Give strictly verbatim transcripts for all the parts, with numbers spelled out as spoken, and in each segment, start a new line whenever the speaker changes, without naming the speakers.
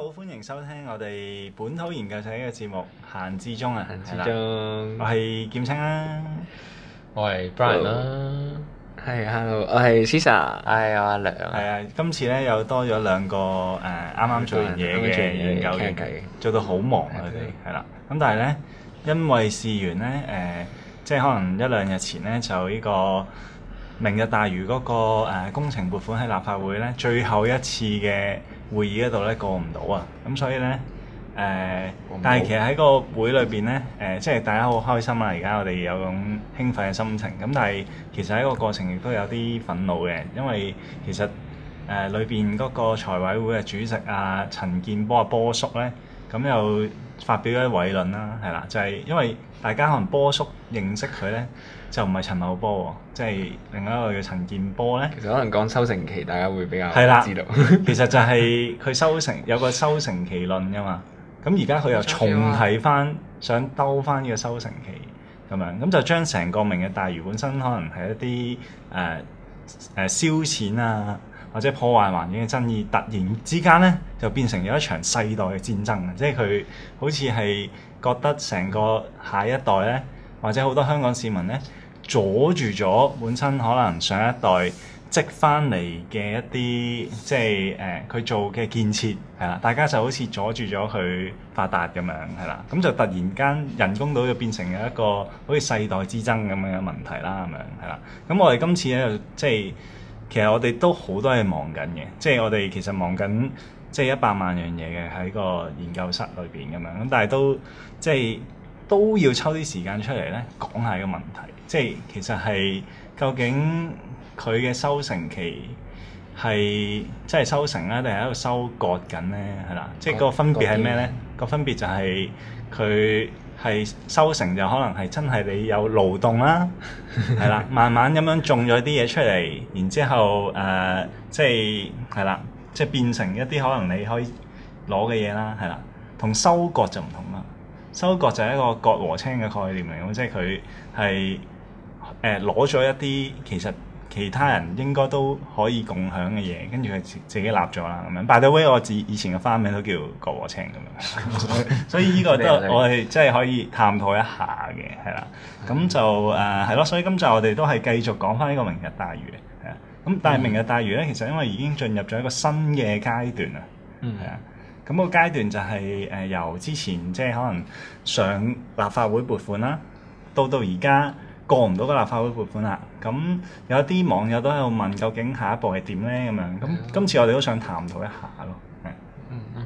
歡迎收聽我哋本土研究社嘅節目《閒置中》啊，
閒置中，
我係劍青啦，
我係 Brian 啦，
係 Hello，我係 Cesar，
係我阿梁，
係啊，今次咧又多咗兩個誒啱啱做完嘢嘅研究員，做到好忙啊佢哋，係啦，咁但係咧因為事緣咧誒、呃，即係可能一兩日前咧就呢個明日大嶼嗰、那個、呃、工程撥款喺立法會咧最後一次嘅會議嗰度咧過唔到啊，咁所以咧誒，呃、但係其實喺個會裏邊咧誒，即係大家好開心啊！而家我哋有種興奮嘅心情，咁但係其實喺個過程亦都有啲憤怒嘅，因為其實誒裏邊嗰個財委會嘅主席啊陳健波啊波叔咧，咁又發表咗偉論啦，係啦，就係、是、因為大家可能波叔認識佢咧。就唔係陳茂波喎，即係另外一個叫陳健波咧。
其實可能講收成期，大家會比較知道。
其實就係佢收成有個收成期論噶嘛。咁而家佢又重提翻，想兜翻呢個收成期咁樣，咁就將成個明日大嶼本身可能係一啲誒誒燒錢啊，或者破壞環境嘅爭議，突然之間咧就變成咗一場世代嘅戰爭啊！即係佢好似係覺得成個下一代咧，或者好多香港市民咧。阻住咗本身可能上一代積翻嚟嘅一啲即係誒佢做嘅建設係啦，大家就好似阻住咗佢發達咁樣係啦，咁就突然間人工島就變成咗一個好似世代之爭咁樣嘅問題啦，咁樣係啦。咁我哋今次咧就即係其實我哋都好多嘢忙緊嘅，即係我哋其實忙緊即係一百萬樣嘢嘅喺個研究室裏邊咁樣，咁但係都即係都要抽啲時間出嚟咧講下個問題。即係其實係究竟佢嘅收成期係即係收成咧，定係喺度收割緊咧？係啦，即係個分別係咩咧？個分別就係佢係收成就可能係真係你有勞動啦，係啦，慢慢咁樣種咗啲嘢出嚟，然之後誒、呃、即係係啦，即係變成一啲可能你可以攞嘅嘢啦，係啦，同收割就唔同啦。收割就係一個割禾青嘅概念嚟，咁即係佢係。誒攞咗一啲其實其他人應該都可以共享嘅嘢，跟住佢自自己立咗啦咁樣。By the way，我自以前嘅花名都叫割禾青咁樣，所以呢個都我哋即係可以探討一下嘅，係啦。咁就誒係咯，所以今集我哋都係繼續講翻呢個明日大嶼嘅，係啊。咁但係明日大嶼咧，其實因為已經進入咗一個新嘅階段啊，係啊。咁個階段就係誒由之前即係可能上立法會撥款啦，到到而家。過唔到個立法會撥款啦，咁有啲網友都喺度問究竟下一步係點咧咁樣，咁今次我哋都想探討一下咯。
嗯嗯，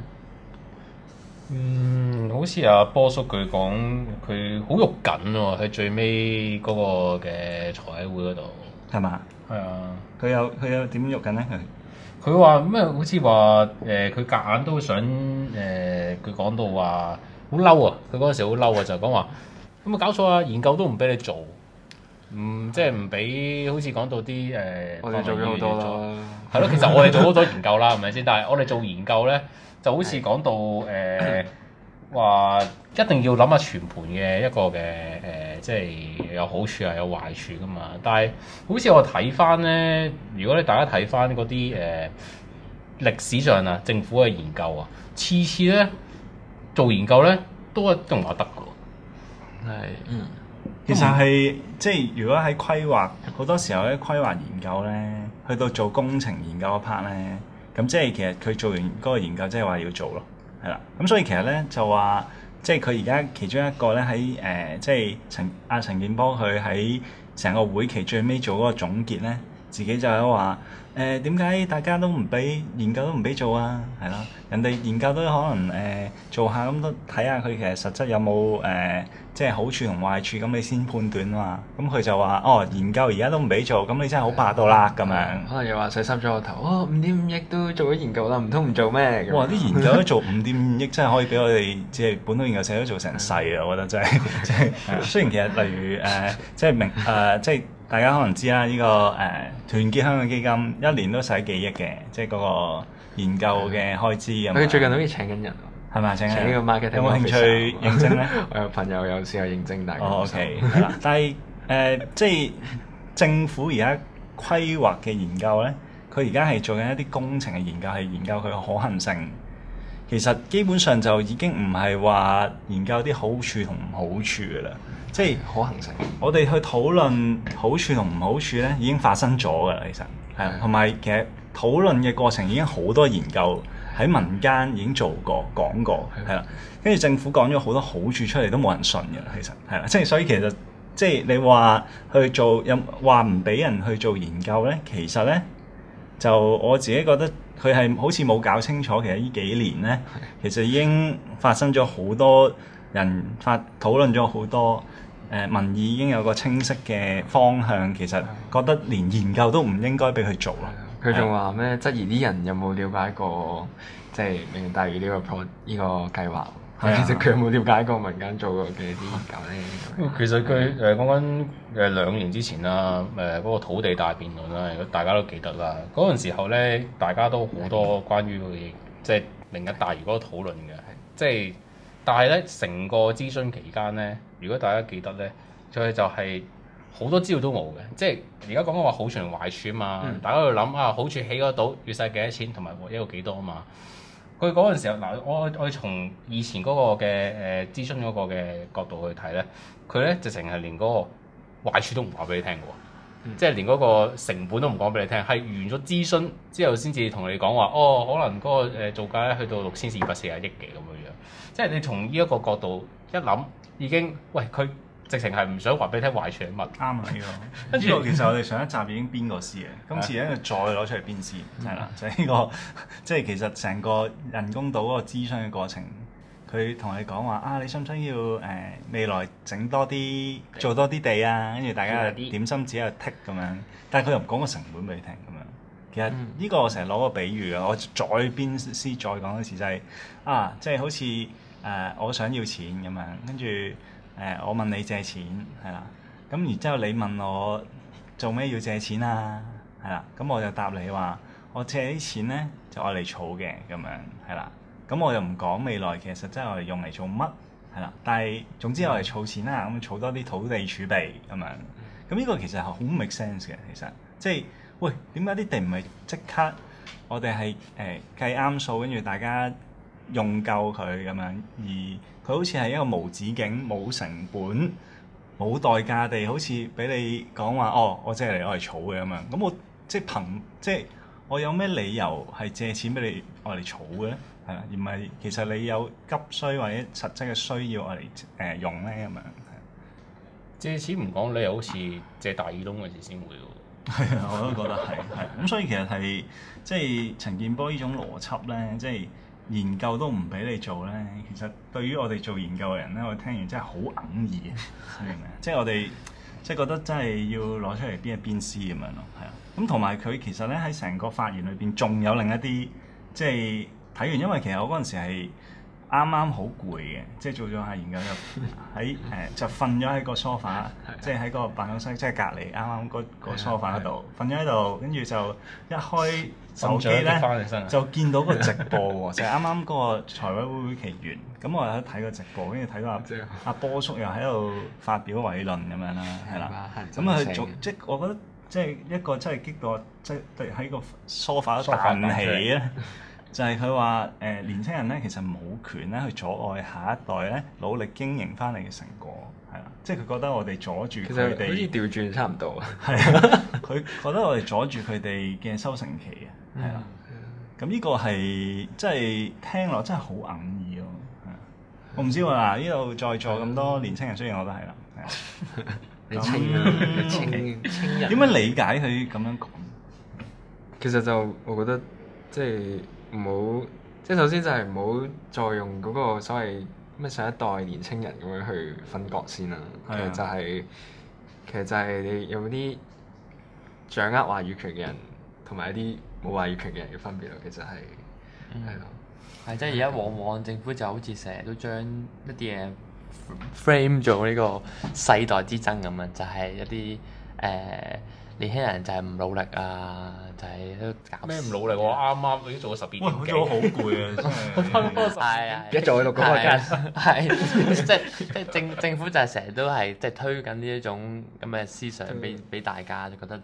嗯，好似阿波叔佢講，佢好肉緊喎，喺最尾嗰個嘅財委會嗰度，
係嘛？
係啊，
佢有佢有點肉緊咧？佢
佢話咩？好似話誒，佢夾硬都想誒，佢、呃、講到話好嬲啊！佢嗰陣時好嬲啊，就講話咁啊搞錯啊，研究都唔俾你做。唔即係唔俾，好似講到啲誒，呃、
我哋做咗好多啦。
係咯，其實我哋做好多研究啦，係咪先？但係我哋做研究咧，就好似講到誒話、呃、一定要諗下全盤嘅一個嘅誒、呃，即係有好處啊，有壞處噶嘛。但係好似我睇翻咧，如果你大家睇翻嗰啲誒歷史上啊，政府嘅研究啊，次次咧做研究咧都一定話得㗎。係，嗯。
其實係即係如果喺規劃好多時候咧，規劃研究咧，去到做工程研究嗰 part 咧，咁即係其實佢做完嗰個研究，即係話要做咯，係啦。咁所以其實咧就話，即係佢而家其中一個咧喺誒，即係陳阿陳健波佢喺成個會期最尾做嗰個總結咧，自己就係話誒點解大家都唔俾研究都唔俾做啊？係啦，人哋研究都可能誒、呃、做下咁都睇下佢其實實質有冇誒。呃即係好處同壞處，咁你先判斷啊嘛。咁佢就話：哦，研究而家都唔俾做，咁你真係好霸道啦咁樣。
可能又話洗濕咗個頭，哦，五點五億都做咗研究啦，唔通唔做咩？
哇！啲研究都做五點五億，真係可以俾我哋即係本土研究社都做成世啊！我覺得真係，即係雖然其實例如誒、呃，即係明誒、呃，即係大家可能知啦，呢、這個誒、呃、團結香港基金一年都使幾億嘅，即係嗰個研究嘅開支咁。
佢最近好似請緊人。係咪請呢個 marketing？有冇
興趣應徵咧？
我有朋友有試過應徵，但係
哦 OK 係啦。但係誒、呃，即係政府而家規劃嘅研究咧，佢而家係做緊一啲工程嘅研究，係研究佢嘅可行性。 其實基本上就已經唔係話研究啲好處同唔好處嘅啦，即係
可行性。
我哋去討論好處同唔好處咧，已經發生咗㗎啦，其實係啊，同埋其實討論嘅過程已經好多研究喺民間已經做過講過，係啦，跟住政府講咗好多好處出嚟都冇人信嘅，其實係啦，即係所以其實即係你話去做有話唔俾人去做研究咧，其實咧就我自己覺得佢係好似冇搞清楚，其實呢幾年咧，其實已經發生咗好多人發討論咗好多。誒、呃、民意已經有個清晰嘅方向，其實覺得連研究都唔應該俾佢做咯。
佢仲話咩質疑啲人有冇了解過，即係明日大嶼呢個 pro 呢個計劃？係其實佢有冇了解過民間做過嘅啲研究咧？
其實佢誒講緊誒兩年之前啦，誒、呃、嗰、那個土地大辯論啦，如果大家都記得啦，嗰陣時候咧，大家都好多關於佢即係明日大嶼嗰個討論嘅，即係。但係咧，成個諮詢期間咧，如果大家記得咧，佢就係好多資料都冇嘅，即係而家講緊話好處同壞處啊嘛，嗯、大家喺度諗啊，好處起嗰島預晒幾多錢，同埋獲益有幾多啊嘛。佢嗰陣時候嗱，我我從以前嗰個嘅誒、呃、諮詢嗰個嘅角度去睇咧，佢咧直情係連嗰個壞處都唔話俾你聽嘅喎，嗯、即係連嗰個成本都唔講俾你聽，係完咗諮詢之後先至同你講話，哦，可能嗰個誒造價咧去到六千四百四十億嘅咁樣樣。即係你從呢一個角度一諗，已經喂佢直情係唔想話俾你聽壞處係乜？啱啊呢個。呢個其實我哋上一集已經編過詩嘅，今次咧再攞出嚟編詩，係啦，就係呢個即係其實成個人工島嗰個諮詢嘅過程，佢同你講話啊，你想唔想要誒、呃、未來整多啲做多啲地啊？跟住大家點心紙喺度剔咁樣，但係佢又唔講個成本俾你聽咁樣。其實呢個我成日攞個比喻啊，我再編詩再講一次就係、是、啊，即係好似誒、呃、我想要錢咁樣，跟住誒我問你借錢係啦，咁然之後你問我做咩要借錢啊？係啦，咁我就答你話我借啲錢咧就愛嚟儲嘅咁樣係啦，咁我又唔講未來其實真係我哋用嚟做乜係啦，但係總之我哋儲錢啦，咁儲多啲土地儲備咁樣，咁呢個其實係好 make sense 嘅，其實即係。喂，點解啲地唔係即刻我哋係誒計啱數，跟住大家用夠佢咁樣，而佢好似係一個無止境、冇成本、冇代價地，好似俾你講話哦，我借嚟我嚟儲嘅咁樣。咁我即係憑即係我有咩理由係借錢俾你我嚟儲嘅咧？係啊，而唔係其實你有急需或者實質嘅需要我嚟誒用咧咁樣。 借錢唔講，你又好似借大耳窿嗰時先會喎。
係啊，我都覺得係係咁，所以其實係即係陳健波呢種邏輯咧，即係研究都唔俾你做咧。其實對於我哋做研究嘅人咧，我聽完真係好哽耳嘅，明唔明啊？即係我哋即係覺得真係要攞出嚟編一編詩咁樣咯，係啊。咁同埋佢其實咧喺成個發言裏邊，仲有另一啲即係睇完，因為其實我嗰陣時係啱啱好攰嘅，即係做咗下研究就喺誒就瞓咗喺個 sofa， 即係喺個辦公室即係隔離啱啱嗰個 sofa 嗰度瞓咗喺度，跟住就一開手機咧就見到個直播喎，就係啱啱嗰個財委會會期完，咁我喺度睇個直播，跟住睇到阿阿波叔又喺度發表偉論咁樣啦，係啦，咁啊做即係我覺得即係一個真係激到即係喺個 sofa 度彈起咧。就係佢話誒年輕人咧，其實冇權咧去阻礙下一代咧努力經營翻嚟嘅成果，係啦，即係佢覺得我哋阻住佢哋，好似調轉差唔多啊，係啊，佢覺得我哋阻住佢哋嘅收成期啊，係啦，咁呢個係即係聽落真係好哽耳咯，係啊，我唔知喎嗱，呢度在座咁多年輕人，雖然我都係啦，係啊，
你青啊，青青人，
點樣理解佢咁樣講？
其實就我覺得即係。唔好，即係首先就係唔好再用嗰個所謂咩上一代年青人咁樣去分割先啦。其實就係、是，其實就係你有啲掌握話語權嘅人，同埋一啲冇話語權嘅人嘅分別咯。其實係，係咯、
嗯。係即係而家往往政府就好似成日都將一啲嘢 frame 做呢個世代之爭咁樣，就係、是、一啲誒。呃年輕人就係唔努力啊，就係都搞
咩唔努力？我啱啱已經做咗十二點幾。
哇！做咗好攰啊，真係。
係啊，
一做喺度嗰個間。
係即係即係政政府就係成日都係即係推緊呢一種咁嘅思想俾俾大家，就覺得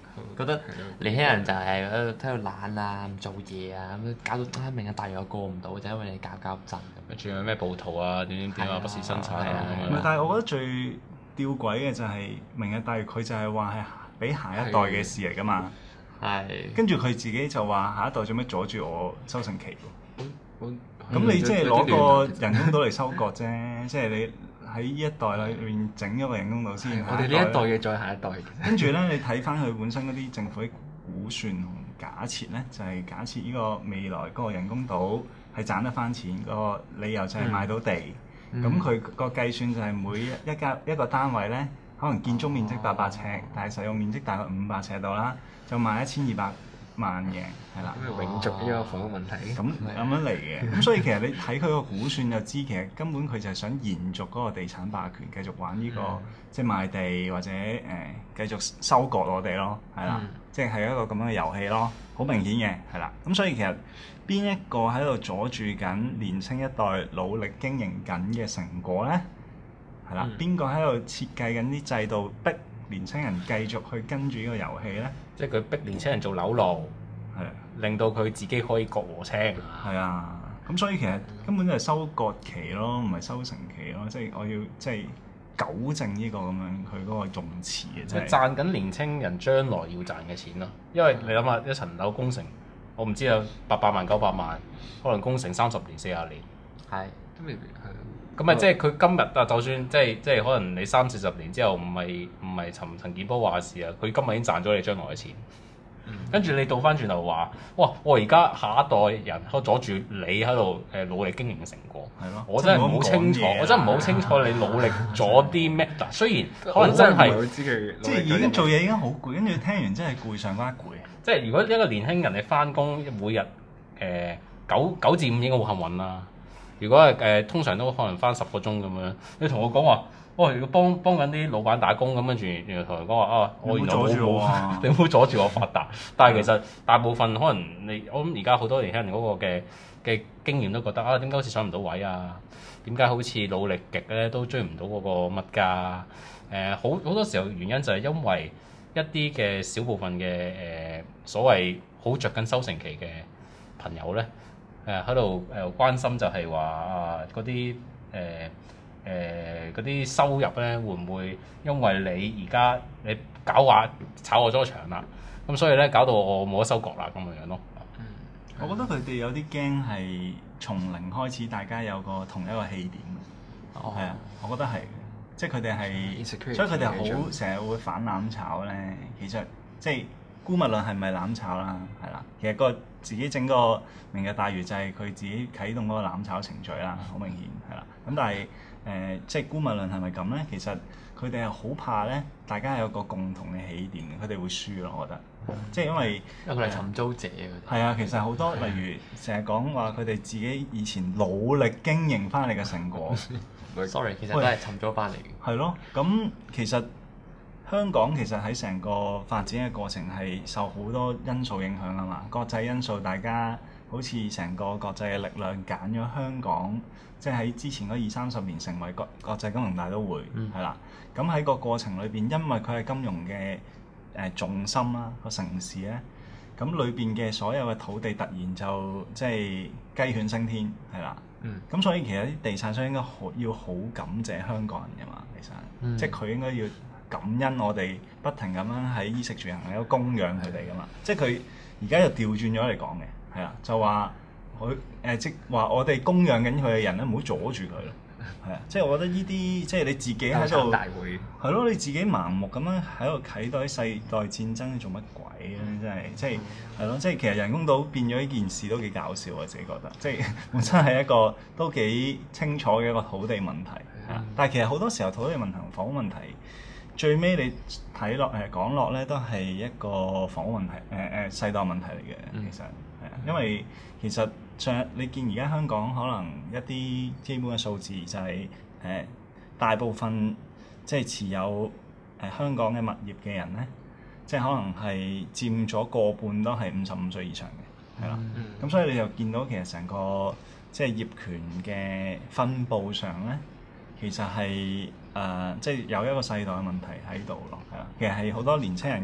覺得年輕人就係喺度喺度懶啊，唔做嘢啊，咁搞到明日大嶼又過唔到，就因為你搞搞震咁。仲有咩暴徒啊？點點點啊？不時生產啊！
唔係，但係我覺得最吊詭嘅就係明日大嶼，佢就係話係俾下一代嘅事嚟㗎嘛。係。跟住佢自己就話下一代做咩阻住我收成期喎？咁你即係攞個人工島嚟收割啫，即係你。喺呢一代裏面整咗個人工島先，
我哋呢一代嘅再下一代。
跟住咧，你睇翻佢本身嗰啲政府嘅估算同假設咧，就係、是、假設呢個未來嗰個人工島係賺得翻錢，個理由就係買到地。咁佢、嗯、個計算就係每一家一個單位咧，可能建築面積八百尺，哦、但係使用面積大概五百尺度啦，就賣一千二百萬嘅，係啦，
咁永續呢個房屋問題，
咁咁樣嚟嘅，咁所以其實你睇佢個估算就知，其實根本佢就係想延續嗰個地產霸權，繼續玩呢、這個、嗯、即係賣地或者誒、呃、繼續收割我哋咯，係啦，嗯、即係係一個咁樣嘅遊戲咯，好明顯嘅，係啦，咁所以其實邊一個喺度阻住緊年青一代努力經營緊嘅成果咧？係啦，邊個喺度設計緊啲制度逼年青人繼續去跟住呢個遊戲咧？
即係佢逼年青人做樓奴，係的令到佢自己可以割禾青。
係啊，咁所以其實根本就係收割期咯，唔係收成期咯。即係我要即係糾正呢個咁樣佢嗰個用詞嘅。即係
賺緊年青人將來要賺嘅錢咯。因為你諗下一層樓工程，我唔知有八百萬九百萬，可能工程三十年四十年。係
都未必係。
咁啊，即係佢今日啊，就算即係即係可能你三四十年之後唔係唔係陳陳健波話事啊，佢今日已經賺咗你將來嘅錢。嗯、跟住你倒翻轉頭話，哇！我而家下一代人喺度阻住你喺度誒努力經營嘅成果。係咯。我真係唔好清楚，我真係唔好清楚你努力咗啲咩。嗱，雖然可能真係
即係已經做嘢已經好攰，跟住聽完真係攰上加攰。
即係如果一個年輕人你翻工每日誒、呃、九九至五應該好幸運啦。如果係誒、呃，通常都可能翻十個鐘咁樣。你同我講話，哦，如果幫幫緊啲老闆打工咁，跟住然後同人講話啊，我原來冇冇，你唔好阻住我發達。但係其實大部分可能你，我諗而家好多年輕人嗰個嘅嘅經驗都覺得啊，點解好似上唔到位啊？點解好似努力極咧都追唔到嗰個物價？誒、呃，好好多時候原因就係因為一啲嘅小部分嘅誒、呃、所謂好着緊收成期嘅朋友咧。誒喺度誒關心就係話啊嗰啲誒誒嗰啲收入咧會唔會因為你而家你搞話炒我咗個場啦，咁所以咧搞到我冇得收割啦咁樣樣咯。
嗯，我覺得佢哋有啲驚係從零開始，大家有個同一個起點。哦，係啊，我覺得係，即係佢哋係，所以佢哋好成日會反攬炒咧。其實即係姑勿論係咪攬炒啦，係啦，其實個。自己整個明日大嶼就係佢自己啟動嗰個攬炒程序啦，好明顯係啦。咁但係誒、呃，即係姑勿論係咪咁咧？其實佢哋係好怕咧，大家有個共同嘅起點嘅，佢哋會輸咯。我覺得，嗯、即係因為
因為佢係尋租者啊。
係啊，其實好多例如成日講話佢哋自己以前努力經營翻嚟嘅成果
，sorry， 其實都係尋租翻嚟嘅。
係咯，咁其實。香港其實喺成個發展嘅過程係受好多因素影響啊嘛，國際因素大家好似成個國際嘅力量揀咗香港，即係喺之前嗰二三十年成為國國際金融大都會，係啦、嗯。咁喺個過程裏邊，因為佢係金融嘅誒重心啦，個城市咧，咁裏邊嘅所有嘅土地突然就即係雞犬升天，係啦。咁、嗯、所以其實啲地產商應該好要好感謝香港人嘅嘛，其實，嗯、即係佢應該要。感恩我哋不停咁樣喺衣食住行喺度供養佢哋噶嘛，即係佢而家又調轉咗嚟講嘅，係啦，就話佢誒即話我哋供養緊佢嘅人咧，唔好阻住佢咯，係啊，即係我覺得呢啲即係你自己喺度，係咯，你自己盲目咁樣喺度睇到啲世代戰爭做乜鬼咧？真係即係係咯，即係其實人工島變咗呢件事都幾搞笑，我自己覺得，即係本身係一個都幾清楚嘅一個土地問題，係啊，但係其實好多時候土地問題同房屋問題。最尾你睇落誒講落咧，都係一個房屋問題，誒、呃、誒世代問題嚟嘅。嗯、其實係啊，因為其實上你見而家香港可能一啲基本嘅數字就係、是、誒、呃、大部分即係持有誒、呃、香港嘅物業嘅人咧，即係可能係佔咗個半都係五十五歲以上嘅，係啦。咁、嗯、所以你就見到其實成個即係業權嘅分佈上咧，其實係。誒、呃，即係有一個世代嘅問題喺度咯，係啦。其實係好多年青人嘅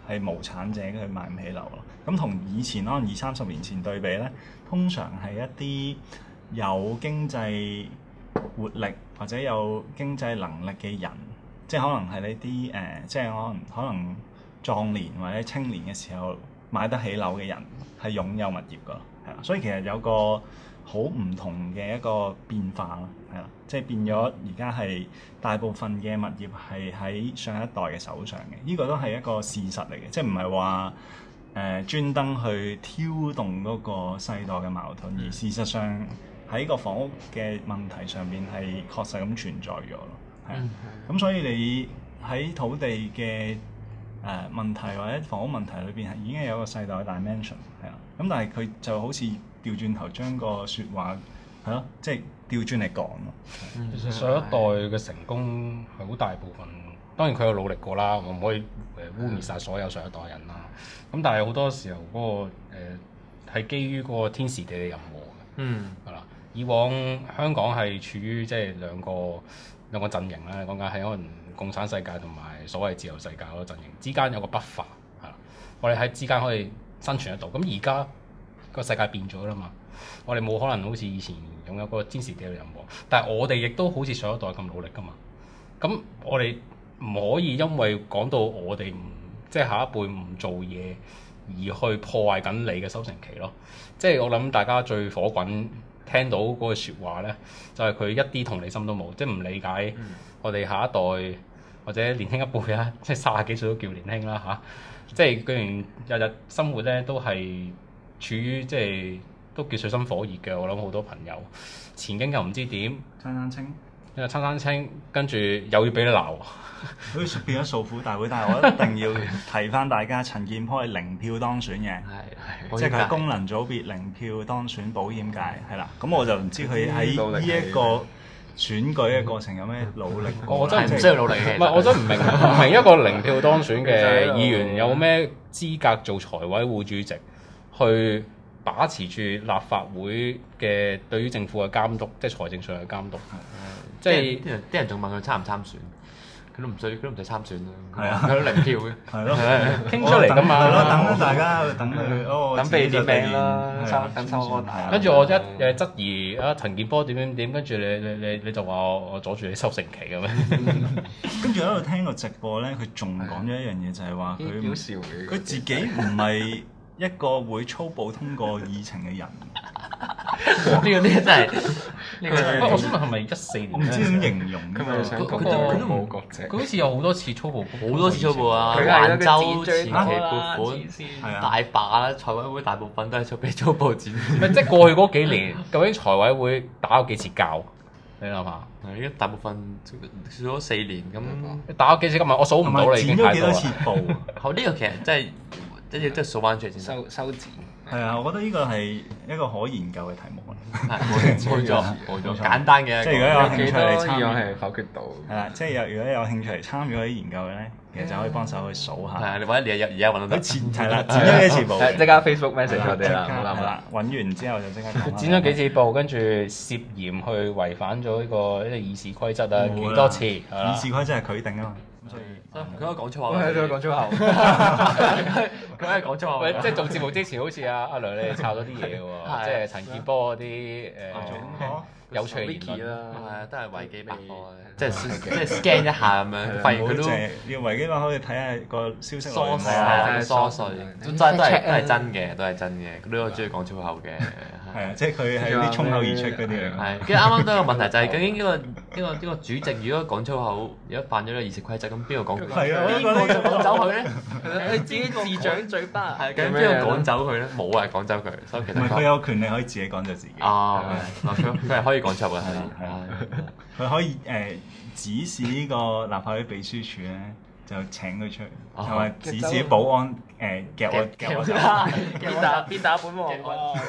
係無產者佢買唔起樓咯。咁同以前可能二三十年前對比咧，通常係一啲有經濟活力或者有經濟能力嘅人，即係可能係呢啲誒，即係可能可能壯年或者青年嘅時候買得起樓嘅人係擁有物業㗎，係啦。所以其實有個好唔同嘅一個變化咯，係啦，即係變咗而家係大部分嘅物業係喺上一代嘅手上嘅，呢個都係一個事實嚟嘅，即係唔係話誒專登去挑動嗰個世代嘅矛盾，而事實上喺個房屋嘅問題上邊係確實咁存在咗咯，係啊，咁所以你喺土地嘅誒、呃、問題或者房屋問題裏邊係已經有一個世代嘅 dimension 係啊，咁但係佢就好似調轉頭將個説話係咯，即係調轉嚟講咯。
其實上一代嘅成功係好大部分，當然佢有努力過啦，我唔可以誒污蔑晒所有上一代人啦。咁但係好多時候嗰、那個誒係、呃、基於嗰個天時地利人和嘅。嗯，係啦。以往香港係處於即係兩個兩個陣營啦，講緊係可能共產世界同埋所謂自由世界嗰個陣營之間有個 buffer 係啦，我哋喺之間可以生存得到。咁而家個世界變咗啦嘛，我哋冇可能好似以前擁有個天時地利人和，但係我哋亦都好似上一代咁努力噶嘛。咁我哋唔可以因為講到我哋唔即係下一輩唔做嘢而去破壞緊你嘅收成期咯。即係我諗大家最火滾聽到嗰個説話咧，就係、是、佢一啲同理心都冇，即係唔理解我哋下一代或者年輕一輩啦，即係三十幾歲都叫年輕啦嚇、啊。即係居然日日生活咧都係處於即係都叫水深火熱嘅。我諗好多朋友前景又唔知點，
餐餐清，
因為餐餐清，跟住又要俾你鬧，
好似變咗訴苦大會。但係我一定要提翻大家，陳健波係零票當選嘅，係即係佢功能組別零票當選保險界，係啦。咁我就唔知佢喺呢一個選舉嘅過程有咩努力。
我真係唔
需要努力嘅。
唔係，我真係唔明唔明一個零票當選嘅議員有咩資格做財委會主席，去把持住立法會嘅對於政府嘅監督，即係財政上嘅監督。即係
啲人啲人仲問佢參唔參選，佢都唔需，佢都唔使參選啦。
係啊，
佢都零票嘅。
係咯，
傾出嚟㗎嘛。
係咯，等大家等佢哦，
等俾啲名啦，收等收安排。
跟住我一誒質疑啊陳健波點點點，跟住你你你你就話我我阻住你收成期嘅咩？
跟住喺度聽個直播咧，佢仲講咗一樣嘢，就係話佢佢自己唔係一個會粗暴通過議程嘅人。
呢個呢個真係，呢個真係。
我想問係咪一四年？
我唔知點形容。
佢咪想講
佢
都冇國籍。
佢好似有好多次粗暴，
好多次粗暴啊！
佢
橫
係
州前期撥
款
款大把啦，財委會大部分都係做俾粗暴展。
唔係即係過去嗰幾年，究竟財委會打咗幾次交？你諗下？
係，依家大部分少咗四年咁。
打咗幾次今日我數唔到你已經
剪咗幾多次布？
好，呢個其實真係即係即係數翻出嚟先。
收收剪。
係啊，我覺得呢個係一個可研究嘅題目啊。
冇錯，冇錯，簡單嘅。
即係如果有興趣嚟參與，
係否決到。係
啦，即係有如果有興趣嚟參與嗰啲研究嘅咧，其實就可以幫手去數下。
係啊，你或者你而家揾到得。
剪係啦，剪咗幾次布。
即刻 Facebook message 我哋啦，
係啦，揾完之後就即刻。
剪咗幾次布，跟住涉嫌去違反咗呢個呢個議事規則啊，幾多次？
議事規則係佢定啊嘛。所以
佢可以講粗口。
佢可以講粗口。
佢可以講粗口。
喂，即係做節目之前，好似阿阿梁你抄咗啲嘢喎，即係陳健波嗰啲誒有趣嘅言論
啦，
係啊，都係維基百科即係即係 scan 一下咁樣，發現佢都
要維基百科去睇下個消息
疏碎啊，疏碎，都真都係都係真嘅，都係真嘅。佢都中意講粗口嘅。
係啊，即係佢係啲衝口而出嗰啲嚟。
係，跟住啱啱都有個問題就係究竟呢個呢個呢個主席如果講粗口，如果犯咗呢個議事規則，咁邊個講？
係啊，
邊個就趕走佢咧？
佢自己自掌嘴巴。
係，咁邊個趕走佢咧？冇人趕走佢，所以其實
唔係佢有權利可以自己趕走自己。
啊，佢佢係可以講粗嘅，係
啊，佢可以誒指示呢個立法會秘書處咧，就請佢出去，同埋指示保安誒夾我夾我走，
邊打邊打本王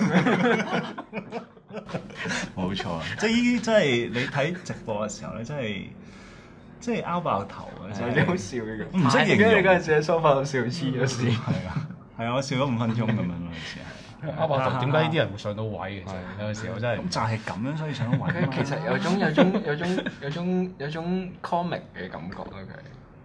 冇錯，即係呢啲真係你睇直播嘅時候咧，真係即係拗爆頭嘅，真係
好笑嘅。
唔識形容。
你嗰陣時喺梳化度笑黐咗線。
係啊，係啊，我笑咗五分鐘咁樣咯，好似係。
拗爆頭，點解呢啲人會上到位嘅？有陣時我真係
咁就係咁樣，所以上到位。
其實有種有種有種有種有種 comic 嘅感覺咯，佢。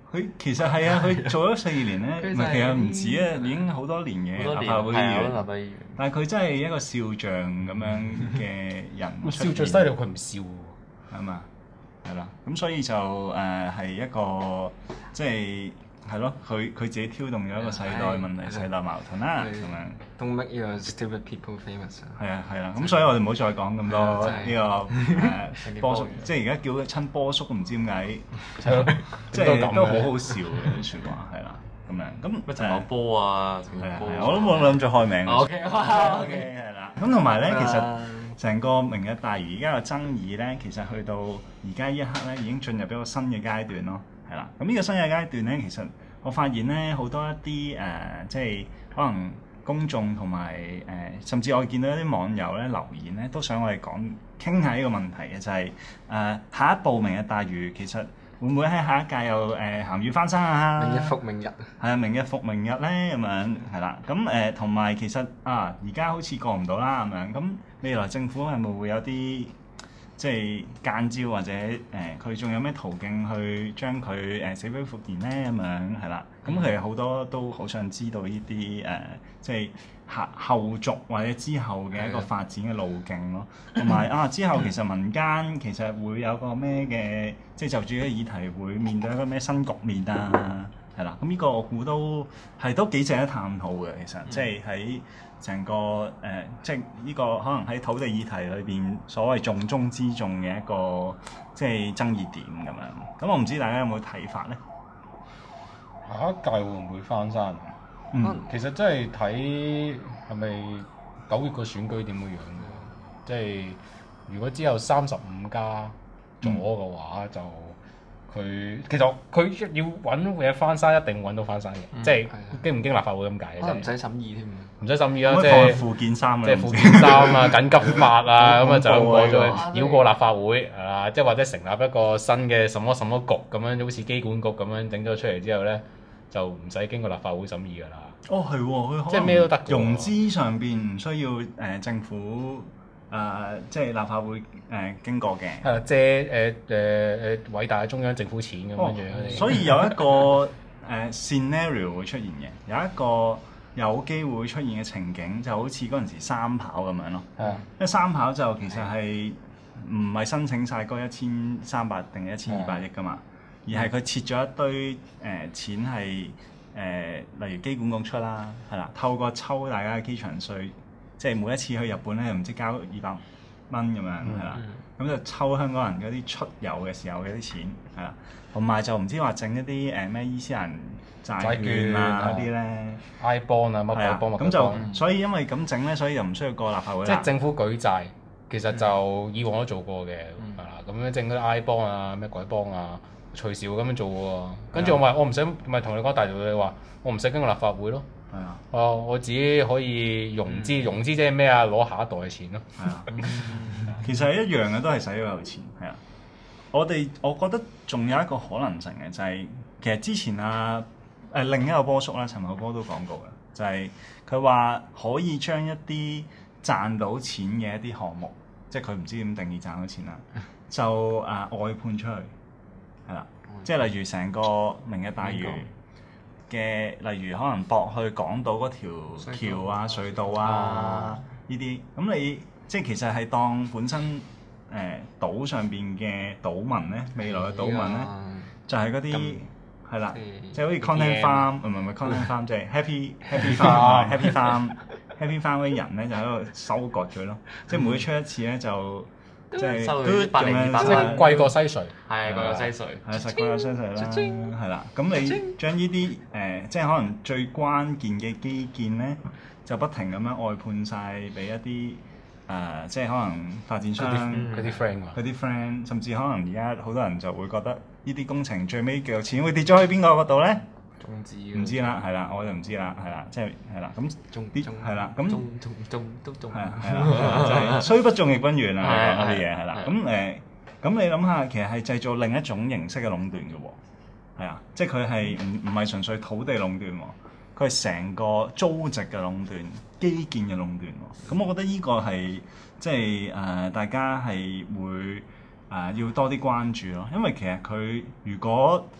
佢其實係啊，佢做咗四年咧，唔係其實唔止啊，已經好多年嘅立法會議員。但係佢真係一個笑匠咁樣嘅人出現。笑最犀利，佢唔笑喎。係嘛？係啦，咁所以就誒係、呃、一個即係係咯，佢佢自己挑動咗一個世代問題、世代矛盾啦，咁樣。
Don't make your stupid people famous。
係啊係啦，咁所以我哋唔好再講咁多呢個誒波叔，即係而家叫親波叔，唔知點解，即係都好好笑嘅啲説話，係啦，咁樣咁
乜陳茂波啊，
係啊係啊，我都冇諗住開名。OK OK 係啦，咁同埋咧，其實成個明日大嶼而家嘅爭議咧，其實去到而家一刻咧，已經進入一個新嘅階段咯，係啦。咁呢個新嘅階段咧，其實我發現咧好多一啲誒，即係可能。公眾同埋誒，甚至我見到一啲網友咧留言咧，都想我哋講傾下呢個問題嘅，就係、是、誒、呃、下一步明日大嶼其實會唔會喺下一屆又誒鹹魚翻身啊？
明日復明日，
係啊，明日復明日咧咁樣係啦。咁誒同埋其實啊，而家好似過唔到啦咁樣。咁未來政府係咪會有啲即係間招或者誒佢仲有咩途徑去將佢誒、呃、死灰復燃咧咁樣係啦。咁其實好多都好想知道呢啲誒，即係後後續或者之後嘅一個發展嘅路徑咯。同埋啊，之後其實民間其實會有個咩嘅，即係就住呢個議題會面對一個咩新局面啊，係啦。咁呢個我估都係都幾值得探討嘅。其實即係喺成個誒、呃，即係呢個可能喺土地議題裏邊所謂重中之重嘅一個即係爭議點咁樣。咁我唔知大家有冇睇法咧？
下一屆會唔會翻山？嗯，其實真係睇係咪九月個選舉點樣樣嘅。即係如果之後三十五加咗嘅話，嗯、就佢其實佢要揾嘢翻山，一定揾到翻山嘅。嗯、即係經唔經立法會咁解嘅，
可能唔使審議添。
唔使審議啦，
即係附件三，
即係附件三啊，緊急法啊，咁啊就過咗繞過立法會啊，即係或者成立一個新嘅什麼什麼局咁樣，好似機管局咁樣整咗出嚟之後咧。就唔使經過立法會審議㗎啦。
哦，係喎，佢
即係咩都得。
融資上邊唔需要誒、呃、政府誒、呃，即係立法會誒、呃、經過嘅。
係啦，借誒誒誒偉大嘅中央政府錢咁樣樣。
哦、所以有一個誒、呃、scenario 會出現嘅，有一個有機會出現嘅情景，就好似嗰陣時三跑咁樣咯。係啊、嗯，因為三跑就其實係唔係申請晒嗰一千三百定係一千二百億㗎嘛？而係佢設咗一堆誒、呃、錢係誒、呃，例如機管局出啦，係啦，透過抽大家嘅機場稅，即係每一次去日本咧，又唔知交二百蚊咁樣，係啦，咁、嗯、就抽香港人嗰啲出遊嘅時候嘅啲錢，係啦，同埋就唔知話整一啲誒咩伊斯蘭債券啊嗰啲咧
，I bond 啊乜鬼 bond
咁就所以因為咁整咧，所以就唔需要過立法會啦。
即係政府舉債，其實就以往都做過嘅，係啦、嗯，咁樣整嗰啲 I bond 啊咩鬼 bond 啊。隨時會咁樣做喎，跟住我咪我唔使咪同你講大道理話，我唔使經過立法會咯。係啊，哦，我自己可以融資，融資即係咩啊？攞下一代嘅錢咯。係啊，
其實係一樣嘅，都係使咗有錢。係啊，我哋我覺得仲有一個可能性嘅就係、是，其實之前啊誒、呃、另一個波叔啦，陳茂波都講過嘅，就係佢話可以將一啲賺到錢嘅一啲項目，即係佢唔知點定義賺到錢啦，就啊、呃、外判出去。係啦，即係例如成個明日大嶼嘅，例如可能駁去港島嗰條橋啊、隧道啊呢啲，咁你即係其實係當本身誒、呃、島上邊嘅島民咧，未來嘅島民咧，就係嗰啲係啦，即係好似 content farm，唔係唔係 content farm，即係 happy happy farm happy farm happy farm 嗰啲人咧，就喺度收割咗咯，即係每出一次咧就。即係
收佢百零二百
蚊，貴過西隧，
係貴過西隧，
係實貴過西隧啦，係啦。咁你將呢啲誒，即係可能最關鍵嘅基建咧，就不停咁樣外判晒俾一啲誒，即係可能發展商
嗰啲 friend，
嗰啲 friend，甚至可能而家好多人就會覺得呢啲工程最尾嘅錢會跌咗去邊個嗰度咧？
中指
唔知啦，係啦，我就唔知啦，係啦，即係係啦，咁啲係啦，咁
中中中都中
係啊係啦，就係雖不中亦不遠啊，講啲嘢係啦，咁誒，咁你諗下，其實係製造另一種形式嘅壟斷嘅喎，係啊，即係佢係唔唔係純粹土地壟斷喎，佢係成個租值嘅壟斷、基建嘅壟斷喎，咁我覺得呢個係即係誒大家係會誒要多啲關注咯，因為其實佢如果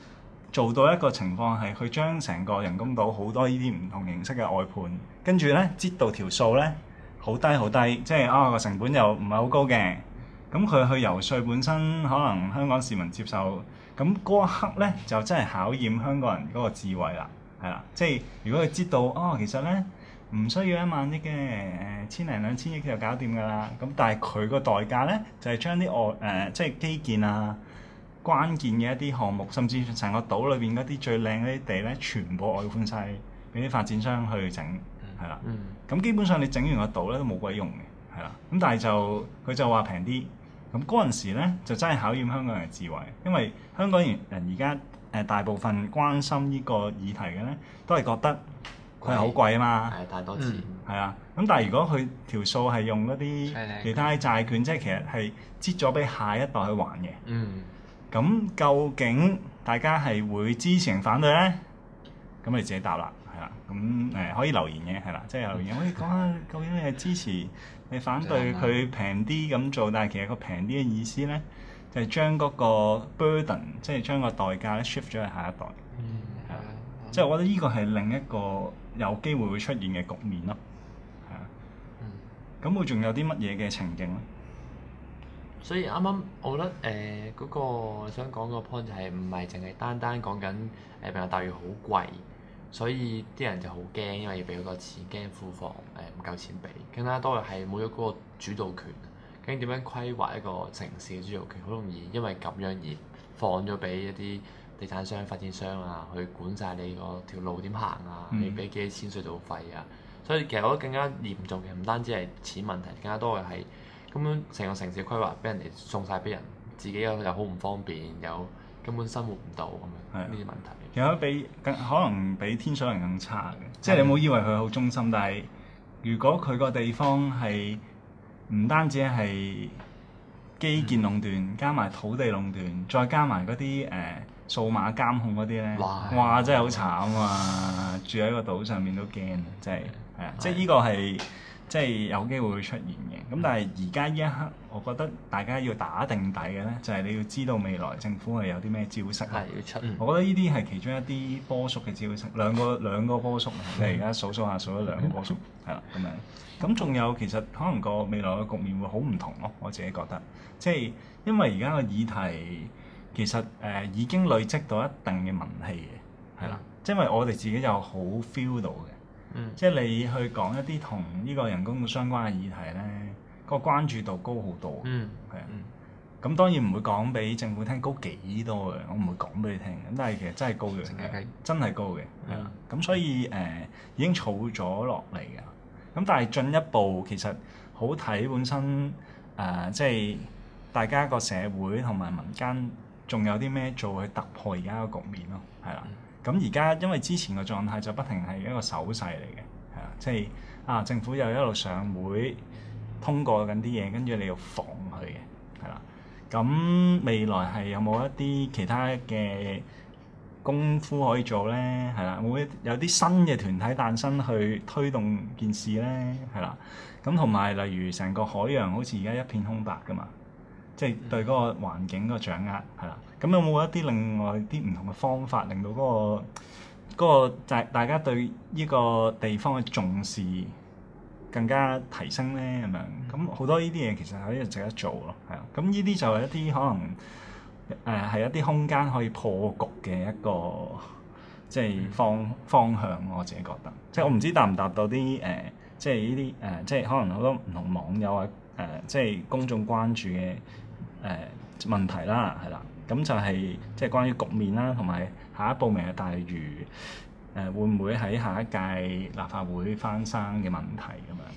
做到一個情況係，佢將成個人工島好多呢啲唔同形式嘅外判，跟住咧擠到條數咧好低好低，即係啊個成本又唔係好高嘅。咁佢去游說本身可能香港市民接受，咁嗰一刻咧就真係考驗香港人嗰個智慧啦，係啦，即係如果佢知道哦，其實咧唔需要一萬億嘅，誒千零兩千億就搞掂㗎啦。咁但係佢個代價咧就係、是、將啲外誒即係基建啊、關鍵嘅一啲項目，甚至成個島裏邊嗰啲最靚嗰啲地咧，全部外判晒俾啲發展商去整，係啦。咁、嗯、基本上你整完個島咧都冇鬼用嘅，係啦。咁但係就佢就話平啲。咁嗰陣時咧，就真係考驗香港人嘅智慧，因為香港人而家誒大部分關心呢個議題嘅咧，都係覺得佢係好貴啊嘛，
係太多錢，
係啊、嗯。咁但係如果佢條數係用嗰啲其他債券，即係其實係擠咗俾下一代去還嘅。嗯。咁究竟大家係會支持定反對咧？咁你自己答啦，係啦。咁誒、呃、可以留言嘅，係啦，即係留言可以講下究竟你係支持，你反對佢平啲咁做，但係其實個平啲嘅意思咧，就係、是、將嗰個 burden，即係將個代價咧 shift 咗去下一代。嗯，係啊，即係我覺得呢個係另一個有機會會出現嘅局面咯。係啊。嗯。咁會仲有啲乜嘢嘅情景咧？
所以啱啱我覺得誒嗰、呃那個想講個 point 就係唔係淨係單單講緊誒明日大嶼好貴。所以啲人就好驚，因為要俾好多錢，驚庫房誒唔夠錢俾。更加多嘅係冇咗嗰個主導權。究竟點樣規劃一個城市嘅主導權？好容易因為咁樣而放咗俾一啲地產商、發展商啊，去管晒你個條路點行啊，你俾幾多錢隧道費啊。所以其實我覺得更加嚴重嘅唔單止係錢問題，更加多嘅係咁樣成個城市規劃俾人哋送晒俾人，自己又又好唔方便，又根本生活唔到咁樣呢啲問題。
其實比更可能比天水圍更差嘅，即係你冇以為佢好中心，但係如果佢個地方係唔單止係基建壟斷，嗯、加埋土地壟斷，再加埋嗰啲誒數碼監控嗰啲咧，哇！哇真係好慘啊！住喺個島上面都驚啊，真係係啊！即係呢個係即係有機會會出現嘅。咁但係而家呢一刻，我覺得大家要打定底嘅咧，就係、是、你要知道未來政府係有啲咩招式。係要出。嗯、我覺得呢啲係其中一啲波叔嘅招式，兩個兩個波叔。你而家數數下數咗兩個波叔，係啦咁樣。咁仲有其實可能個未來嘅局面會好唔同咯，我自己覺得。即係因為而家個議題其實誒、呃、已經累積到一定嘅民氣嘅，係啦。即係因為我哋自己就好 feel 到嘅。嗯、即係你去講一啲同呢個人工相關嘅議題咧，個關注度高好多，係啊、嗯。咁、嗯、當然唔會講俾政府聽高幾多嘅，我唔會講俾你聽。咁但係其實真係高嘅，嗯、真係高嘅，係啦。咁、嗯、所以誒、呃、已經儲咗落嚟嘅。咁但係進一步其實好睇本身誒、呃，即係大家個社會同埋民間仲有啲咩做去突破而家個局面咯，係啦。咁而家因為之前個狀態就不停係一個手勢嚟嘅，係啊，即係啊政府又一路上會通過緊啲嘢，跟住你要防佢嘅，係啦。咁未來係有冇一啲其他嘅功夫可以做咧？係啦，會有啲新嘅團體誕生去推動件事咧？係啦。咁同埋例如成個海洋好似而家一片空白㗎嘛，即係對嗰個環境個掌握係啦。咁有冇一啲另外啲唔同嘅方法，令到嗰個嗰個大大家對呢個地方嘅重視更加提升咧？咁樣咁好多呢啲嘢其實可以值得做咯，係啊。咁呢啲就係一啲可能誒係、呃、一啲空間可以破局嘅一個即係方方向。我自己覺得，即係我唔知答唔答到啲誒、呃，即係呢啲誒，即係可能好多唔同網友啊誒、呃，即係公眾關注嘅誒、呃、問題啦，係啦。咁就係即係關於局面啦，同埋下一步明日大嶼誒、呃、會唔會喺下一屆立法會翻生嘅問題咁樣，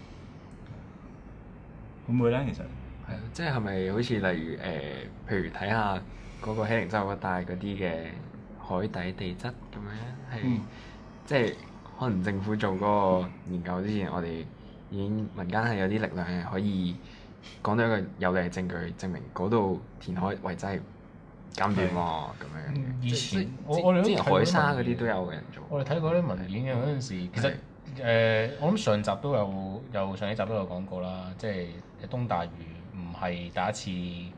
會唔會咧？其實
係啊，即係係咪好似例如誒、呃，譬如睇下嗰個喜靈洲嗰帶嗰啲嘅海底地質咁樣，係、嗯、即係可能政府做嗰個研究之前，我哋已經民間係有啲力量係可以講到一個有力嘅證據，證明嗰度填海遺址係監斷喎咁樣嘅。以前我我哋之前海沙嗰啲都有人做。
我哋睇過啲文件嘅嗰陣時，其實誒、呃、我諗上集都有有上一集都有講過啦，即係東大嶼唔係第一次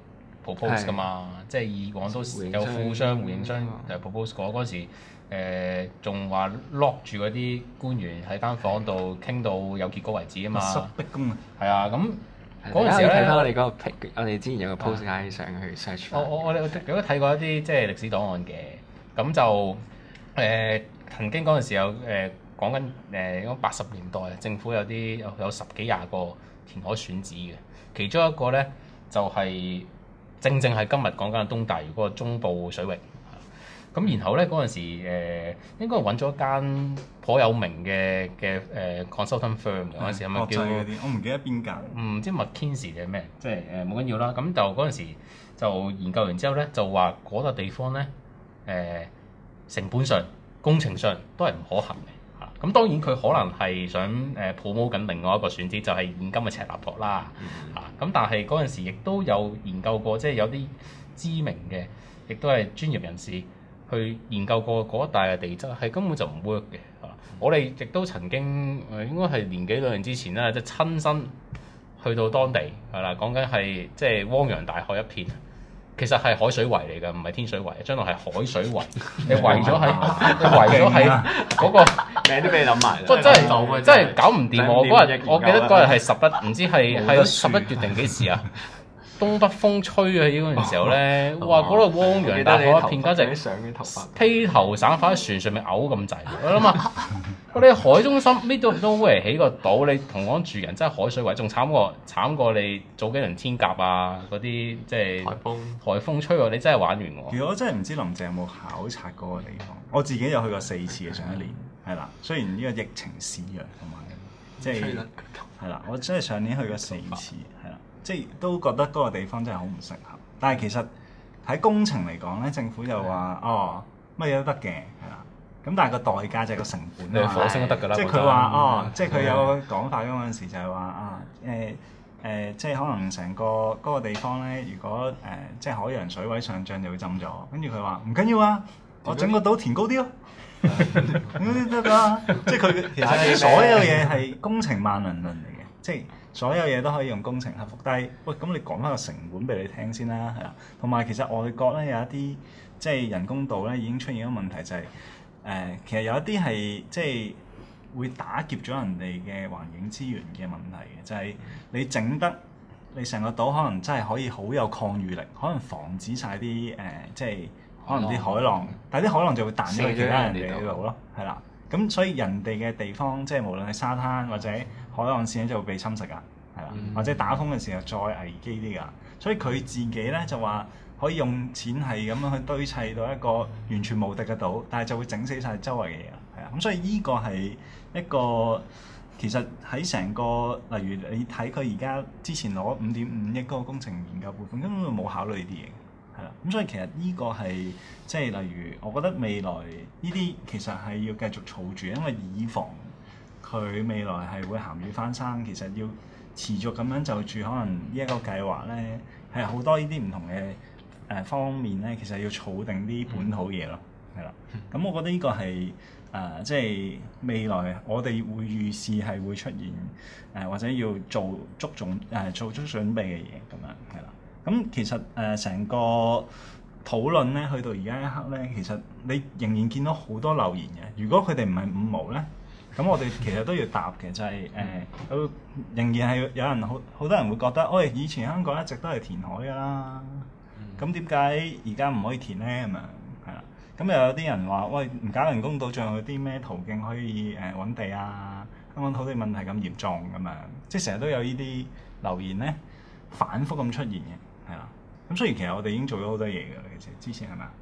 propose 噶嘛，即係以往都有富商、回應商誒 propose 過嗰陣時。誒仲話 lock 住嗰啲官員喺間房度傾到有結果為止啊嘛，密室逼宮啊，係啊，咁嗰陣時咧睇翻我哋嗰個 pic，我哋之前有個 post 嗌上去 search。我我我哋如果睇過一啲即係歷史檔案嘅，咁就誒、呃、曾經嗰陣時有誒講緊誒嗰八十年代政府有啲有有十幾廿個填海選址嘅，其中一個咧就係、是、正正係今日講緊嘅東大嶼嗰個中部水域。咁然後咧嗰陣時誒、呃、應該揾咗一間頗有名嘅嘅誒 consultant firm 嗰陣時係咪叫？我唔記得邊間。唔知 McKinsey 定係咩？即係誒冇緊要啦。咁就嗰陣時就研究完之後咧，就話嗰笪地方咧誒、呃、成本上、工程上都係唔可行嘅嚇。咁、啊、當然佢可能係想誒 promote 緊另外一個選址，就係、是、現今嘅赤鱲角啦嚇。咁、啊、但係嗰陣時亦都有研究過，即係有啲知名嘅，亦都係專業人士。去研究過嗰一帶嘅地質係根本就唔 work 嘅嚇，我哋亦都曾經誒應該係年幾兩年之前啦，即係親身去到當地係啦，講緊係即係汪洋大海一片，其實係海水圍嚟㗎，唔係天水圍，將來係海水圍，你圍咗喺你圍咗喺嗰個名都俾你諗埋，真係真係搞唔掂我嗰日，我記得嗰日係十一，唔知係係十一月定幾時啊？東北風吹啊！嗰陣時候咧，哇！嗰度汪洋大海一片，簡直披頭散髮喺船上面嘔咁滯。我諗啊，我哋海中心呢度都會起個島，你同我住人真係海水圍，仲慘過慘過你早幾輪天鴿啊嗰啲，即係颱風颱風吹喎，你真係玩完喎。其實我真係唔知林鄭有冇考察嗰個地方，我自己有去過四次嘅上一年，係啦。雖然呢個疫情肆虐同埋即係係啦，我真係上年去過四次，係啦。即係都覺得嗰個地方真係好唔適合，但係其實喺工程嚟講咧，政府就話哦乜嘢都得嘅，係啦。咁但係個代價就係個成本。你火星都得㗎啦。即係佢話哦，即係佢有個講法嗰陣時就係話啊誒誒，即係可能成個嗰個地方咧，如果誒、呃、即係海洋水位上漲就會浸咗，跟住佢話唔緊要啊，我整個島填高啲咯，咁啲得㗎。即係佢其實所有嘢係工程萬能論嚟嘅，即係。所有嘢都可以用工程克服，但係喂咁你講翻個成本俾你聽先啦，係啦。同埋其實外國咧有一啲即係人工島咧已經出現咗問題，就係、是、誒、呃、其實有一啲係即係會打劫咗人哋嘅環境資源嘅問題嘅，就係、是、你整得你成個島可能真係可以好有抗禦力，可能防止晒啲誒即係可能啲海浪，但係啲海浪就會彈咗去其他人哋嗰度咯，係啦。咁所以人哋嘅地方，即係無論係沙灘或者海岸線咧，就會被侵蝕噶，係啦，嗯、或者打風嘅時候再危機啲噶。所以佢自己咧就話可以用錢係咁樣去堆砌到一個完全無敵嘅島，但係就會整死晒周圍嘅嘢，係啊。咁所以呢個係一個其實喺成個例如你睇佢而家之前攞五點五億嗰個工程研究撥款，根本冇考慮呢啲嘢。係啦，咁所以其實呢個係即係例如，我覺得未來呢啲其實係要繼續儲住，因為以防佢未來係會鹹魚翻生，其實要持續咁樣就住可能呢一個計劃咧，係好多呢啲唔同嘅誒方面咧，其實要儲定啲本土嘢咯，係啦。咁我覺得呢個係誒即係未來我哋會預示係會出現誒、呃、或者要做足準誒、呃、做足準備嘅嘢咁樣，係啦。咁其實誒成、呃、個討論咧，去到而家一刻咧，其實你仍然見到好多留言嘅。如果佢哋唔係五毛咧，咁我哋其實都要答嘅，就係、是、誒，都、呃、仍然係有人好好多人會覺得，喂、哎，以前香港一直都係填海㗎啦，咁點解而家唔可以填咧？咁樣係啦。咁又有啲人話，喂，唔搞人工島，仲有啲咩途徑可以誒揾、呃、地啊？香港土地問題咁嚴重咁樣，即係成日都有呢啲留言咧，反覆咁出現嘅。係啦，咁雖然其實我哋已經做咗好多嘢㗎啦，其實之前係咪啊？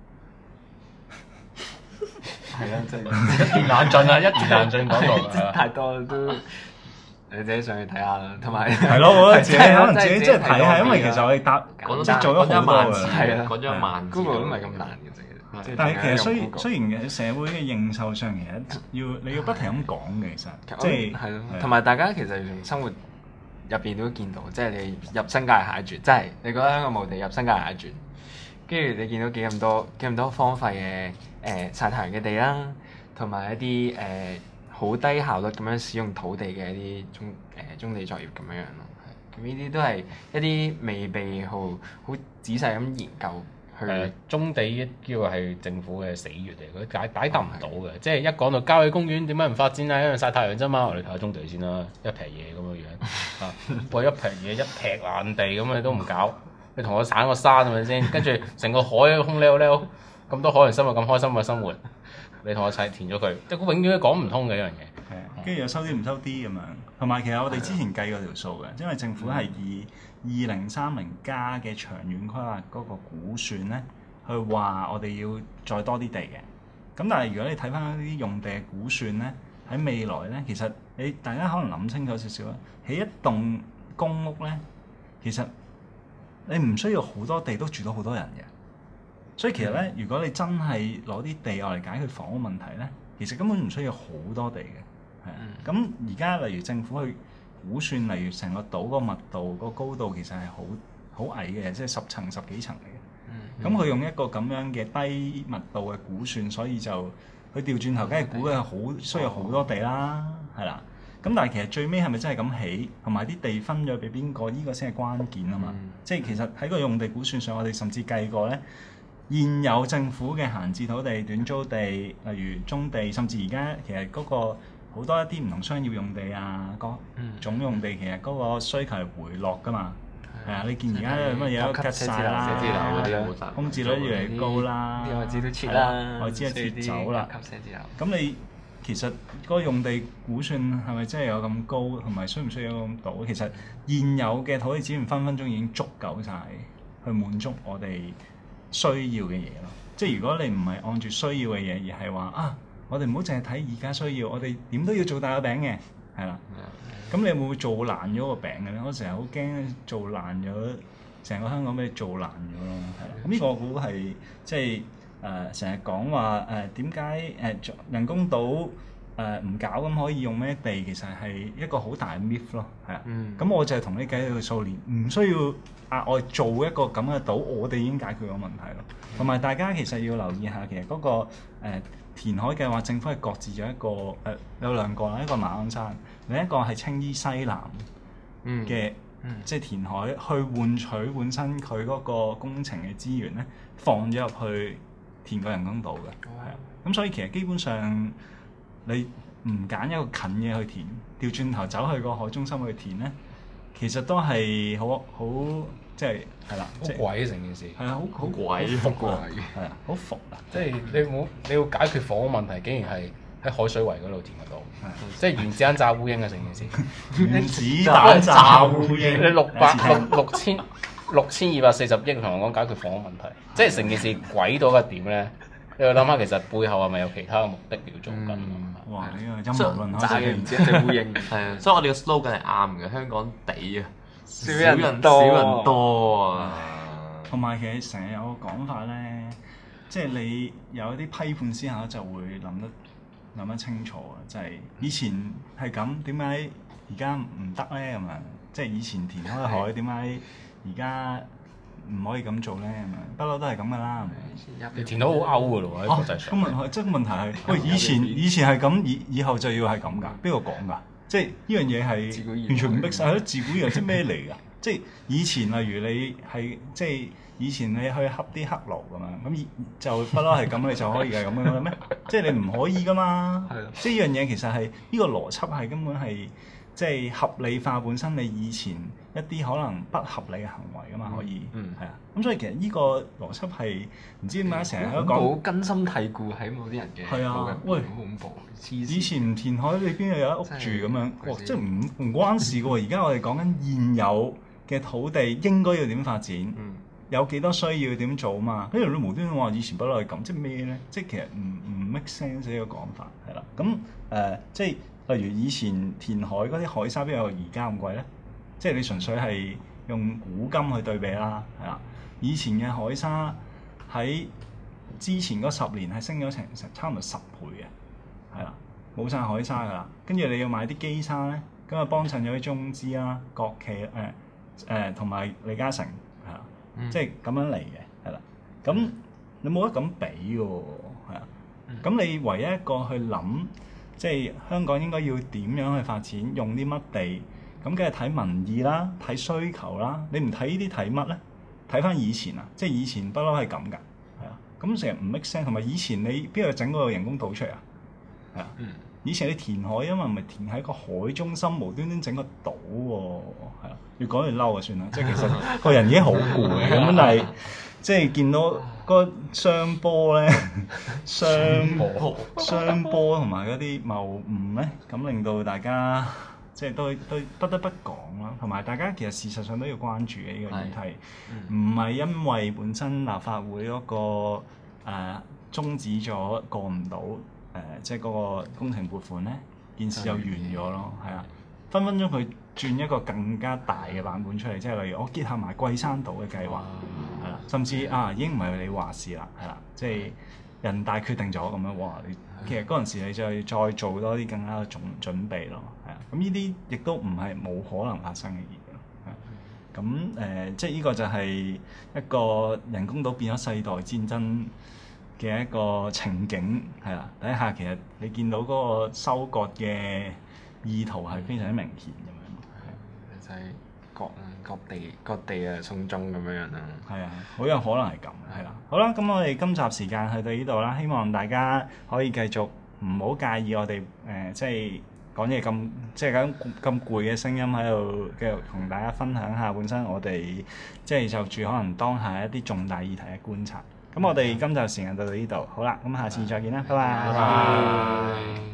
係啊，真係一言難盡啊，一言難盡講到太多都你自己上去睇下啦，同埋係咯，我覺得自己可能自己即係睇下，因為其實我哋答即係做咗好多㗎，係啊，講咗一萬，Google都唔係咁難嘅啫。但係其實雖雖然嘅社會嘅認受上，其實要你要不停咁講嘅，其實即係係咯，同埋大家其實從生活入邊都見到，即係你入新界蟹絕，即係你覺得香港冇地入新界蟹絕，跟住你見到幾咁多幾咁多荒廢嘅誒曬太陽嘅地啦，同埋一啲誒好低效率咁樣使用土地嘅一啲棕誒棕地作業咁樣樣咯。
咁呢啲都係一啲未被好好仔細咁研究去。
誒，棕地叫係政府嘅死穴嚟，佢解解答唔到嘅。即係一講到郊野公園點解唔發展啊？因為曬太陽啫嘛。我哋睇下棕地先啦，一撇嘢咁樣樣啊，喂一撇嘢一劈爛地咁你都唔搞，你同我鏟個山係咪先？跟住成個海空溜溜，咁多海洋生物咁開心嘅生活，你同我砌填咗佢，即係永遠都講唔通嘅一樣嘢。
係，跟住又收啲唔收啲咁樣。同埋其實我哋之前計過條數嘅，因為政府係以二零三零加嘅長遠規劃嗰個估算咧，去話我哋要再多啲地嘅。咁但係如果你睇翻啲用地嘅估算咧，喺未來咧，其實你大家可能諗清楚少少啦。起一棟公屋咧，其實你唔需要好多地都住到好多人嘅。所以其實咧，如果你真係攞啲地落嚟解決房屋問題咧，其實根本唔需要好多地嘅。係啊，咁而家例如政府去估算，例如成個島個密度、個高度其實係好好矮嘅，即係十層、十幾層嚟嘅。咁佢、嗯、用一個咁樣嘅低密度嘅估算，所以就佢調轉頭，梗係估嘅好需要好多地啦，係啦。咁但係其實最尾係咪真係咁起，同埋啲地分咗俾邊個？呢、呢個先係關鍵啊嘛。嗯、即係其實喺個用地估算上，我哋甚至計過咧，現有政府嘅閒置土地、短租地，例如棕地，甚至而家其實嗰、嗰個。好多一啲唔同商業用地啊，各種用地其實嗰個需求係回落噶嘛，係啊、嗯，你見而家乜嘢都吉晒啦，空置率越嚟越高啦，
啲外資都撤啦，
外資係撤走啦。咁你其實嗰個用地估算係咪真係有咁高，同埋需唔需要咁多？其實現有嘅土地資源分分鐘已經足夠晒去滿足我哋需要嘅嘢咯。即係如果你唔係按住需要嘅嘢，而係話啊。我哋唔好淨係睇而家需要，我哋點都要做大個餅嘅，係啦。咁你會唔會做爛咗個餅嘅咧？我成日好驚做爛咗，成個香港俾你做爛咗咯，係啦。咁呢個我估係即係誒成日講話誒點解誒人工島誒唔搞咁可以用咩地？其實係一個好大嘅 myth 咯，係啊。咁、嗯、我就係同你計佢數年，唔需要額外做一個咁嘅島，我哋已經解決咗問題咯。同埋大家其實要留意下，其實嗰、嗰個、呃填海計劃政府係擱置咗一個誒、呃、有兩個啦，一個馬鞍山，另一個係青衣西南嘅，嗯嗯、即係填海去換取本身佢嗰個工程嘅資源咧，放咗入去填個人工島嘅，係啊、哦。咁所以其實基本上你唔揀一個近嘅去填，調轉頭走去個海中心去填咧，其實都係好好。即係係啦，
好鬼成件事，
係啊，好好
鬼
伏㗎，係啊，好伏啊！
即係你冇你要解決房屋問題，竟然係喺海水圍嗰度填得到，即係原子彈炸烏蠅啊！成件事，
原子彈炸烏蠅，
你六百六六千六千二百四十億同我講解決房屋問題，即係成件事鬼到一點咧？你要諗下，其實背後係咪有其他嘅目的要做緊？
哇！呢個陰謀論，
炸嘅原子彈烏蠅，係啊，所以我哋嘅 slogan 係啱嘅，香港地啊！少人多，少人多啊！
同埋其實成日有個講法咧，即係你有一啲批判思考就會諗得諗得清楚啊！即係以前係咁，點解而家唔得咧？咁樣即係以前填開海，點解而家唔可以咁做咧？咁樣不嬲都係咁噶啦。
你填到好勾噶咯喎！喺國際上。
咁問題即係問題係，喂，以前以前係咁，以以後就要係咁㗎？邊個講㗎？即係呢樣嘢係完全唔逼晒，係咯？自古以來即係咩嚟㗎？即係以前例如你係即係以前你去恰啲黑奴咁樣，咁就不嬲係咁，你就可以係咁樣嘅咩？即係你唔可以㗎嘛？係咯。即係呢樣嘢其實係呢、呢個邏輯係根本係即係合理化本身你以前一啲可能不合理嘅行為㗎嘛，可以係啊。咁、嗯、所以其實呢個邏輯係唔知點解成日都講
好根深蒂固喺某啲人嘅。係啊，
喂，
好恐怖！
以前唔填海，你邊度有一屋住咁樣？哇！即係唔唔關事㗎喎。而家我哋講緊現有嘅土地應該要點發展，嗯、有幾多需要點做嘛？跟住你無端端話以前不嬲係咁，即係咩咧？即係其實唔唔 make sense 呢個講法係啦。咁誒、呃，即係例如以前填海嗰啲海沙邊有而家咁貴咧？即係你純粹係用古今去對比啦，係啦。以前嘅海沙喺之前嗰十年係升咗成成差唔多十倍嘅，係啦，冇晒海沙噶啦。跟住你要買啲基沙咧，咁啊幫襯咗啲中資啦、國企誒誒同埋李嘉誠係啦，嗯、即係咁樣嚟嘅，係啦。咁你冇得咁比嘅喎，係啊。咁、嗯、你唯一一個去諗，即係香港應該要點樣去發展，用啲乜地？ 咁梗係睇民意啦，睇需求啦。你唔睇呢啲睇乜咧？睇翻以前啊，即係以前不嬲係咁㗎，係啊。咁成日唔 make sense，同埋以前你邊度整個人工島出嚟啊？係啊。嗯。以前你填海啊嘛，唔係填喺個海中心，無端端整個島喎，係啊。越講越嬲啊，算啦。即係其實個人已經好攰咁，但係即係見到個雙波咧，雙波雙波同埋嗰啲謬誤咧，咁令到大家。即係都都不得不講啦，同埋大家其實事實上都要關注嘅呢個議題，唔係、嗯、因為本身立法會嗰、那個誒、呃、終止咗過唔到誒，即係嗰個工程撥款咧，件事就完咗咯，係啊，分分鐘佢轉一個更加大嘅版本出嚟，即係例如我結合埋桂山島嘅計劃，係啦，甚至啊已經唔係你話事啦，係啦，即係人大決定咗咁樣，哇！你其實嗰陣時你就再做多啲更加嘅準準備咯，係啊，咁呢啲亦都唔係冇可能發生嘅嘢咯，係咁誒，即係呢個就係一個人工島變咗世代戰爭嘅一個情景，係啦，底下其實你見到嗰個收割嘅意圖係非常之明顯咁樣，
就係各各地各地啊送中咁樣樣啦。
係啊，好有可能係咁，係啦。好啦，咁我哋今集時間去到呢度啦，希望大家可以繼續唔好介意我哋誒、呃，即係講嘢咁即係咁咁攰嘅聲音喺度，繼續同大家分享下本身我哋即係就住可能當下一啲重大議題嘅觀察。咁我哋今集時間到到呢度，好啦，咁下次再見啦，拜拜。拜拜。